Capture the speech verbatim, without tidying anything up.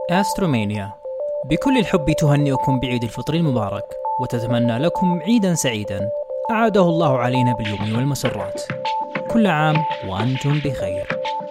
أسترومانيا بكل الحب تهنئكم بعيد الفطر المبارك، وتتمنى لكم عيدا سعيدا أعاده الله علينا باليمن والمسرات. كل عام وأنتم بخير.